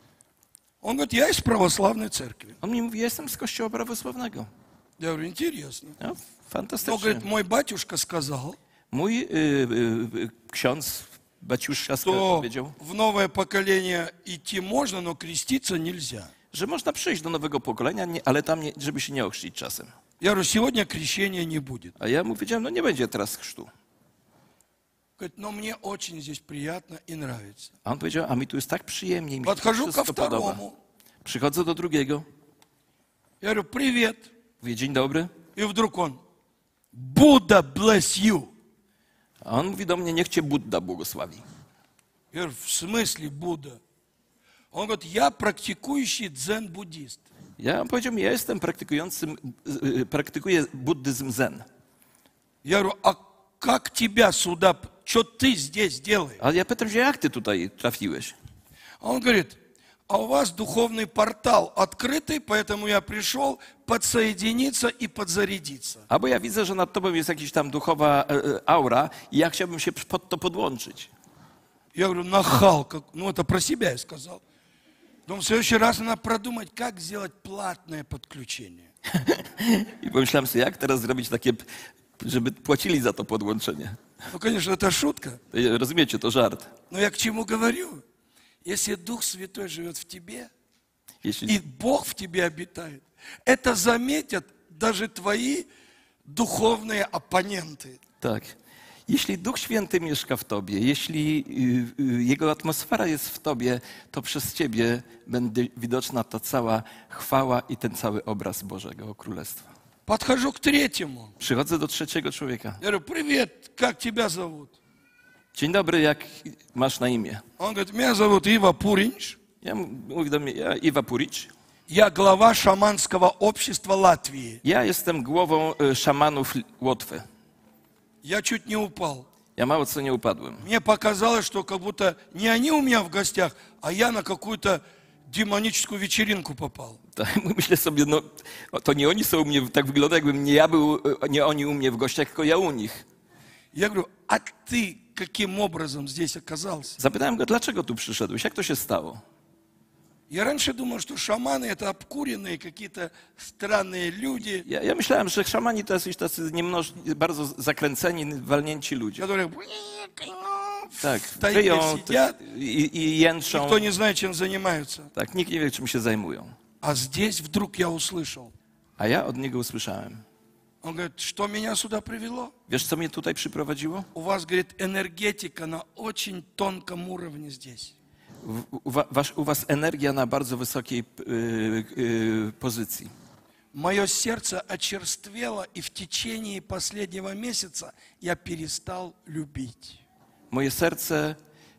Он говорит, я из православной церкви. On mi mówi, ja jestem z kościoła prawosławnego. Я говорю, интересно. No, Но, fantastycznie. говорит, мой батюшка сказал, Mój y, y, y, ksiądz, baciuszka что powiedział, в новое поколение идти можно, но креститься нельзя. że można przyjść do nowego pokolenia, nie, ale tam, nie, żeby się nie ochrzcić czasem. Я говорю, сегодня крещения не будет. A ja mu powiedziałem, no nie będzie teraz chrztu. Говорит, но мне очень здесь приятно и нравится. A on powiedział, a mi tu jest tak przyjemnie, mi się to Подхожу ко wszystko podoba. второму. Przychodzę do drugiego, Я говорю, привет. mówię, dzień dobry. И вдруг он, Будда bless you. A on mówi do mnie, niech cię Budda błogosławi. Я говорю, в смысле Будда? Он говорит, я практикующий дзен-буддист. Ja on powiedział mi, ja jestem praktykującym, y, y, praktykuję buddyzm zen. Я говорю, а как тебя сюда, что ты здесь делаешь? A ja pytam się, jak ty tutaj trafiłeś? А он говорит, а у вас духовный портал открытый, поэтому я пришел подсоединиться и подзарядиться. Albo ja widzę, że nad tobą jest jakaś tam duchowa e, e, aura i ja chciałbym się pod to podłączyć. Я говорю, нахал, как... ну это про себя я сказал. Думаю, в следующий раз надо продумать, как сделать платное подключение. I pomyślałem sobie, jak teraz zrobić takie, żeby płacili za to podłączenie. Ну, конечно, это шутка, To, rozumiecie, to żart. но я к чему говорю? Если Дух Святой живет в тебе, Jeśli, и Бог в тебе обитает, это заметят даже твои духовные оппоненты. tak. Jeśli Duch Święty mieszka w tobie, jeśli y, y, Jego atmosfera jest w tobie, to przez ciebie będzie widoczna ta cała chwała i ten cały obraz Bożego Królestwa. Подхожу к третьему. Przychodzę do trzeciego człowieka. Я говорю, привет, как тебя зовут? Dzień dobry, jak masz na imię? Он говорит, меня зовут Ива Пуринч. Ja mu- mówi do mnie, ja Iwa Puricz. Я глава шаманского общества Латвии. Ja jestem głową y, szamanów Łotwy. Я чуть не упал. Ja mało co nie upadłem. Мне показалось, что как будто не они у меня в гостях, а я на какую-то демоническую вечеринку попал. Tak, myślę sobie, no to nie oni są u mnie, tak wygląda jakbym nie ja był, y, nie oni u mnie w gościach, tylko ja u nich. Я говорю, а ты каким образом здесь оказался? Zapytałem go, dlaczego tu przyszedłeś, jak to się stało? Я раньше думал, что шаманы это обкуренные какие-то странные люди, Ja, ja myślałem, że szamani to jacyś tacy niemnoż, bardzo zakręceni, walnięci ludzie. которые Tak, в тайге wyją сидят, i, i jęczą. никто не знает, чем занимаются. Tak, nikt nie wie, czym się zajmują. А здесь вдруг я услышал. A ja od niego usłyszałem. Он говорит, что меня сюда привело? Wiesz, co mnie tutaj przyprowadziło? У вас, говорит, энергетика на очень тонком уровне здесь. U, u, wa- wasz, u was energia na bardzo wysokiej y, y, pozycji. Мое сердце очерствело, и в течение последнего месяца я перестал любить. Moje serce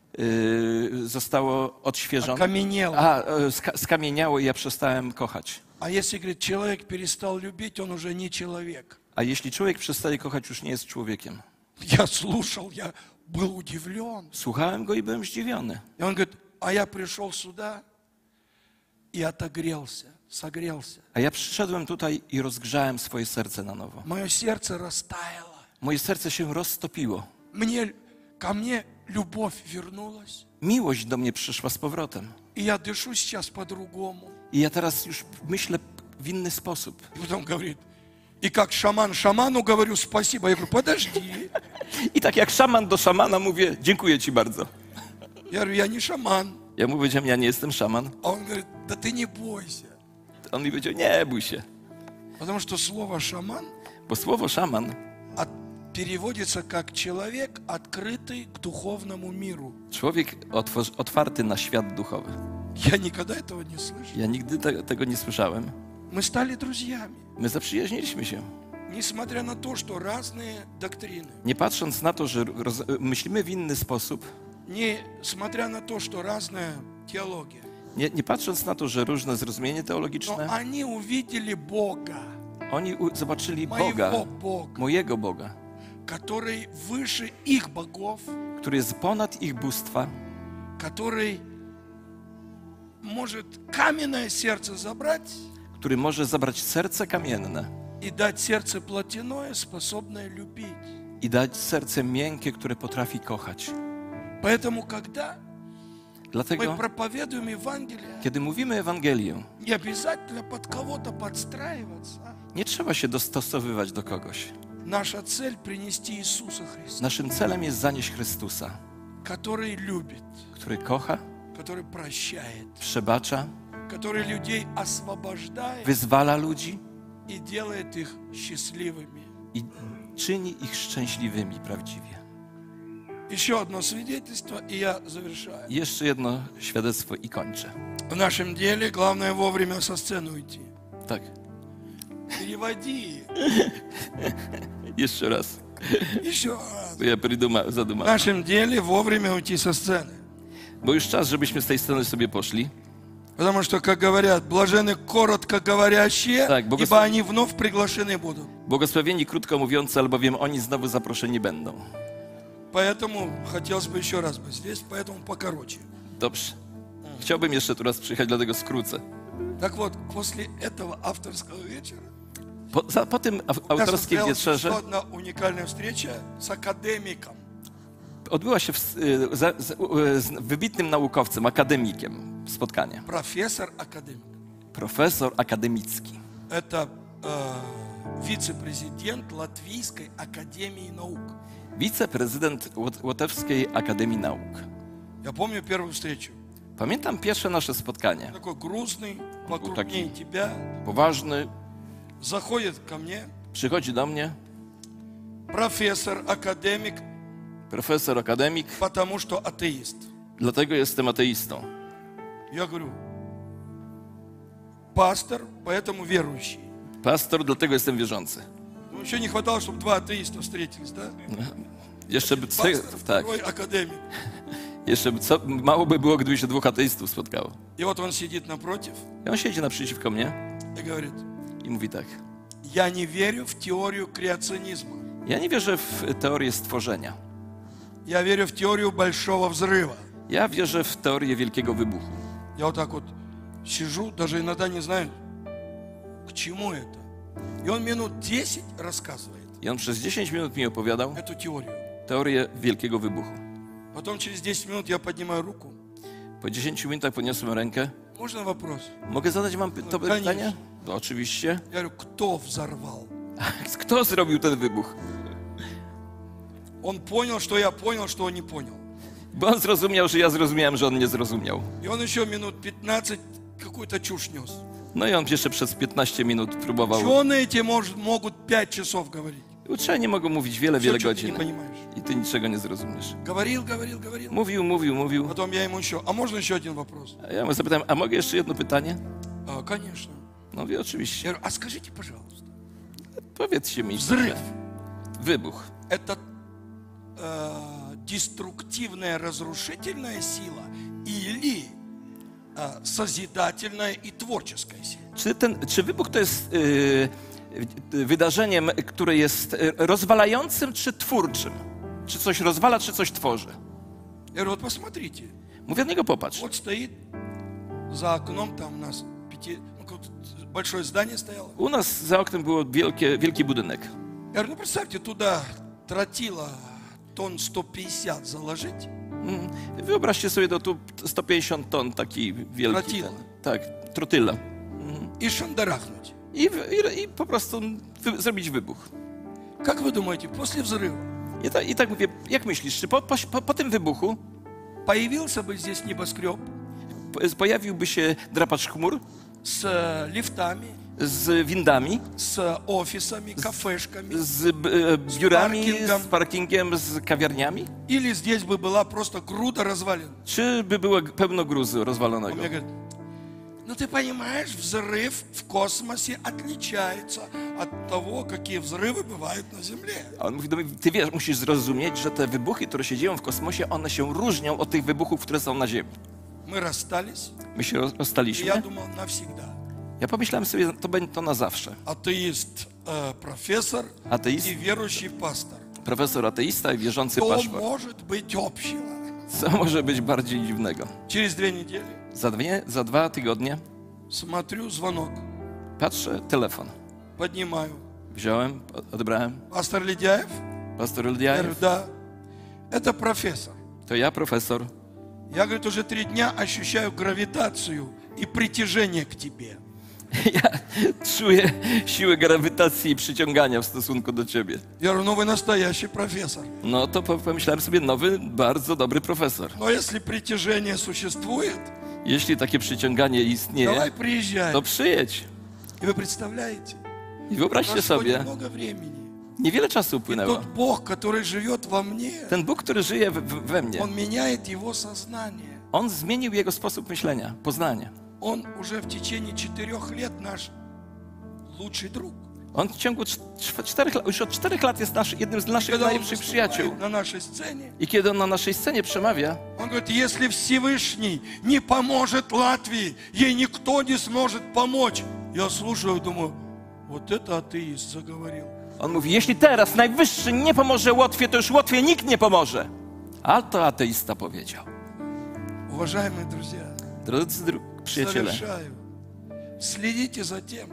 y, zostało odświeżone. Окаменело. A, y, ska, skamieniało i ja przestałem kochać. А если, говорит, человек перестал любить, он уже не человек. A jeśli człowiek przestaje kochać, już nie jest człowiekiem. Я слушал, я был удивлен. Słuchałem go i byłem zdziwiony. И он говорит, а я пришел сюда, и отогрелся, согрелся. A ja przyszedłem tutaj i rozgrzałem swoje serce na nowo. Мое сердце растаяло. Moje serce się roztopiło. Мне, ко мне любовь вернулась. Miłość do mnie przyszła z powrotem. И я дышу сейчас по-другому. I ja teraz już myślę w inny sposób. И потом говорит, и как шаман шаману говорю спасибо. Я говорю, подожди. I tak jak szaman do szamana mówię, dziękuję ci bardzo. Я говорю, я не шаман. Ja mu powiedziałem, ja nie jestem szaman. А он говорит, да ты не бойся. On mi powiedział, nie bój się. Потому что слово шаман Bo słowo szaman от, переводится как человек, открытый к духовному миру. człowiek otwor- otwarty na świat duchowy. Я никогда этого не слышал. Ja nigdy te- tego nie słyszałem. Мы стали друзьями, My zaprzyjaźniliśmy się. несмотря на то, что разные доктрины, Nie patrząc na to, że roz- myślimy w inny sposób, несмотря на то, что разная теология, nie, nie patrząc na to, że różne zrozumienie но teologiczne, они увидели Бога, oni u- zobaczyli моего Boga, Бога, mojego Boga, который выше их богов, który jest ponad ich bóstwa, который может каменное сердце забрать który może zabrać serce kamienne и дать сердце плотяное, способное любить. i dać serce miękkie, które potrafi kochać. Поэтому, когда мы Dlatego, проповедуем Евангелие, kiedy mówimy Ewangelię, не обязательно под кого-то подстраиваться. nie trzeba się dostosowywać do kogoś. Наша цель принести Иисуса Христа, Naszym celem jest zanieść Chrystusa, который любит, który kocha, который прощает, przebacza, который людей освобождает wyzwala ludzi и делает их счастливыми. i czyni ich szczęśliwymi prawdziwie. Еще одно свидетельство, и я завершаю. I jeszcze jedno świadectwo i kończę. В нашем деле главное вовремя со сцены уйти. Tak, Переводи. jeszcze raz, Еще раз. bo ja pryduma, В zadumałem. нашем деле вовремя уйти со сцены. Bo już czas, żebyśmy z tej sceny sobie poszli. Потому что, как говорят, блажены коротко говорящие, Так, богослов- ибо они вновь приглашены будут. Błogosławieni krótko mówiący, albowiem oni znowu zaproszeni będą. Поэтому хотелось бы еще раз быть здесь, поэтому покороче. Dobrze. Chciałbym jeszcze tu raz przyjechać, dlatego skrócę. Так вот, после этого авторского вечера Po, za, po tym au- у нас autorskiej состоялась wieczerze еще одна уникальная встреча с академиком. odbyła się w, y, za, z, y, z wybitnym naukowcem, akademikiem spotkanie. Профессор академик. Profesor akademicki. Это э, вице-президент Латвийской академии наук. Wiceprezydent Łot- Łotewskiej Akademii Nauk. Я помню первую встречу. Pamiętam pierwsze nasze spotkanie. Такой грустный, покрупнее такие. тебя. Poważny, Заходит ко мне przychodzi do mnie профессор, академик, profesor akademik, потому что атеист. dlatego jestem ateistą. Я говорю, пастор, поэтому верующий. Pastor, dlatego jestem wierzący. Ну, еще не хватало, чтобы два атеиста встретились, да? Jeszcze by, Пастор, tak, второй академик. jeszcze by, co, mało by było, gdyby się dwóch ateistów spotkało. И вот он сидит напротив I on siedzi naprzeciwko mnie и говорит, i mówi tak. я не верю в теорию креационизма. Ja nie wierzę w teorię stworzenia. Я верю в теорию большого взрыва. Ja wierzę w teorię wielkiego wybuchu. Я вот так вот сижу, даже иногда не знаю, к чему это. И он минут десять рассказывает I on przez dziesięć minut mi opowiadał эту теорию. teorię wielkiego wybuchu. Потом через десять минут я поднимаю руку. Po dziesięciu minutach podniosłem rękę. Можно вопрос? Mogę zadać wam py- to No, pytanie? No, oczywiście. Я говорю, кто взорвал? Kto zrobił ten wybuch? Он понял, что я понял, что он не понял. Bo on zrozumiał, że ja zrozumiałem, że on nie zrozumiał. И он еще минут пятнадцать какую-то чушь нес. No i on jeszcze przez piętnaście minut próbował. Ученые эти может, могут пять часов говорить. Uczeni mogą mówić wiele, Все, wiele что ты не godzin. понимаешь. I ty niczego nie zrozumiesz. Говорил, говорил, говорил. Mówił, mówił, mówił. Потом я ему еще, а можно еще один вопрос? A ja mu zapytałem, a mogę jeszcze jedno pytanie? А, конечно. No mówię, oczywiście. Я говорю, а скажите, пожалуйста, Powiedzcie mi. взрыв Wybuch. – это э, деструктивная, разрушительная сила или э, созидательная и творческая сила? Czy, ten, czy wybuch to jest yy, yy, wydarzeniem, które jest yy, rozwalającym czy twórczym? Czy coś rozwala, czy coś tworzy? Я говорю, вот посмотрите, Mówię, od niego popatrz. вот стоит За окном там у нас пяти, ну, какое-то большое здание стояло. U nas za oknem było wielkie, wielki budynek. Я говорю, ну представьте, туда тротила тонн сто пятьдесят заложить. Mm. Wyobraźcie sobie, to tu sto pięćdziesiąt ton, taki wielki. Trotyla. Ten, tak, trotyla. И шандарахнуть. I, i, I po prostu wy, zrobić wybuch. Как вы думаете, после взрыва I, ta, I tak mówię, jak myślisz, czy po, po, po tym wybuchu появился бы здесь небоскреб po- pojawiłby się drapacz chmur с э, лифтами, z windami, с офисами, кафешками? z b, e, biurami, parkingiem. z parkingiem, z kawiarniami? Или здесь бы была просто груда развалин? Czy by było pełno gruzu Он rozwalonego? мне говорит, ну ты понимаешь, взрыв в космосе отличается от того, какие взрывы бывают на Земле. A on mówi do mnie, ty wiesz, musisz zrozumieć, że te wybuchy, które się dzieją w kosmosie, one się różnią od tych wybuchów, które są na Ziemi. Мы расстались, My się roz- и rozstaliśmy. я думал навсегда. Ja pomyślałem sobie, to będzie to na zawsze. Атеист, э, профессор Ateist, и верующий пастор. profesor ateista i wierzący Что paszport. может быть общего? Co może być bardziej dziwnego? Через две недели Za, dwie, za dwa tygodnie смотрю, звонок, patrzę, telefon. поднимаю. Wziąłem, odebrałem. Пастор Ледяев? Pastor Я говорю, Ildiajew, да. Это профессор. to ja, profesor. Я, говорит, уже три дня ощущаю гравитацию и притяжение к тебе. Ja czuję siłę grawitacji i przyciągania w stosunku do ciebie. Я говорю, ну вы настоящий профессор. No to po- pomyślałem sobie, nowy, bardzo dobry profesor. Но если притяжение существует, Jeśli takie przyciąganie давай istnieje, приезжай. to przyjedź. И вы представляете, I wyobraźcie прошло sobie, немного времени. niewiele czasu И upłynęło. тот Бог, который живет во мне, Ten Bóg, który żyje w, w, we mnie, Он меняет его сознание. On zmienił jego sposób myślenia, poznanie. Он уже в течение четырех лет наш лучший друг. On w ciągu cz- cz- czterech lat, już od czterech lat jest nasz, jednym z naszych Когда он najlepszych przyjaciół. выступает на нашей сцене, I kiedy on na naszej scenie przemawia, он говорит, если Всевышний не поможет Латвии, ей никто не сможет помочь. Я слушаю, думаю, вот это атеист заговорил. on mówi, jeśli teraz Najwyższy nie pomoże Łotwie, to już Łotwie nikt nie pomoże. A to ateista powiedział. Уважаемые друзья, Drodzy dru- przyjaciele, завершаю. Следите за тем,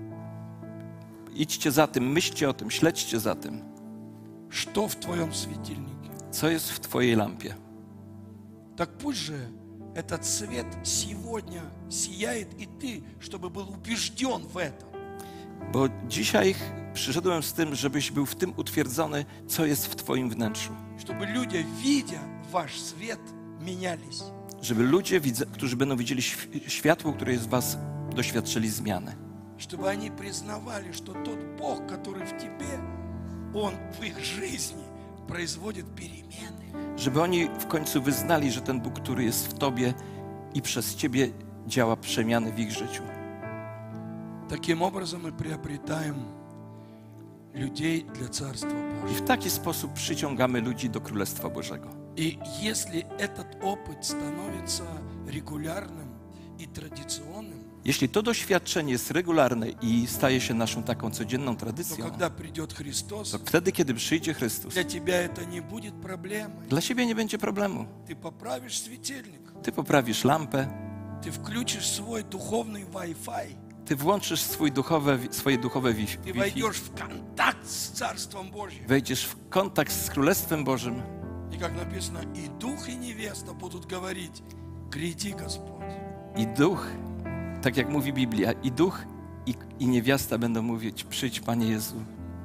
idźcie za tym, myślcie o tym, śledźcie za tym, что в твоем светильнике. co jest w twojej lampie. Так пусть же этот свет сегодня сияет и ты, чтобы был убежден в этом. Bo dzisiaj przyszedłem z tym, żebyś był w tym utwierdzony, co jest w twoim wnętrzu. Чтобы люди, видя ваш свет, менялись. Żeby ludzie, widze- którzy będą widzieli świ- światło, które jest w was, doświadczyli zmiany. Чтобы они признавали, что тот Бог, который в тебе, Он в их жизни производит перемены. Żeby oni w końcu wyznali, że ten Bóg, który jest w tobie i przez ciebie działa przemiany w ich życiu. Таким образом мы приобретаем людей для Царства I Божьего. w taki sposób przyciągamy ludzi do Królestwa Bożego. И если этот опыт становится регулярным и традиционным, Jeśli to doświadczenie jest regularne i staje się naszą taką codzienną то tradycją, когда придет Христос, to wtedy, kiedy przyjdzie Chrystus, для тебя это не будет проблемой. dla ciebie nie będzie problemu. Ты поправишь светильник, Ty poprawisz lampę, ты включишь свой духовный Wi-Fi, ty włączysz swój duchowe, swoje duchowe wi- ты Wi-Fi, войдешь в контакт с Царством Божьим. wejdziesz w kontakt z Królestwem Bożym И как написано, и дух, и невеста будут говорить, гряди, Господь. i duch, tak jak mówi Biblia, i duch, i, i niewiasta będą mówić, przyjdź Panie Jezu.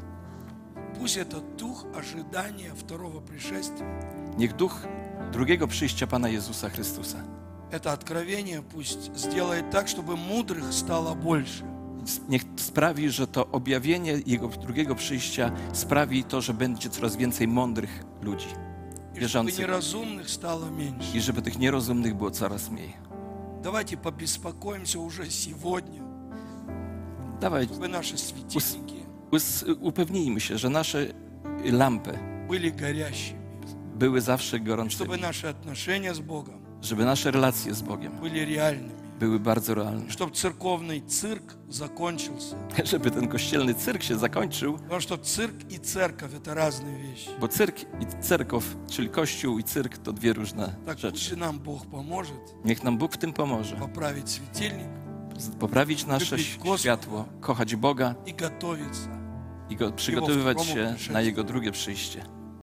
Пусть это дух ожидания второго пришествия. Niech duch drugiego przyjścia Pana Jezusa Chrystusa, Это откровение пусть сделает так, чтобы мудрых стало больше. niech sprawi, że to objawienie Jego drugiego przyjścia sprawi to, że będzie coraz więcej mądrych ludzi, И чтобы wierzących, неразумных стало меньше. i żeby tych nierozumnych było coraz mniej. Давайте побеспокоимся уже сегодня, Dawaj, чтобы наши светильники us, upewnijmy się, że nasze lampy были горящими, były zawsze чтобы gorącymi, наши отношения с Богом żeby nasze relacje z Bogiem были реальными. były bardzo realne. Чтобы церковный цирк закончился. Żeby ten kościelny cyrk się zakończył, Потому что цирк и церковь – это разные вещи. bo cyrk i cerkow, czyli kościół i cyrk, to dwie różne Так rzeczy. пусть нам Бог поможет Niech nam Bóg w tym pomoże. поправить светильник Poprawić nasze Lubić Gospoda. światło, kochać Boga и готовиться. i go przygotowywać Jego się przyjście. na Jego drugie przyjście.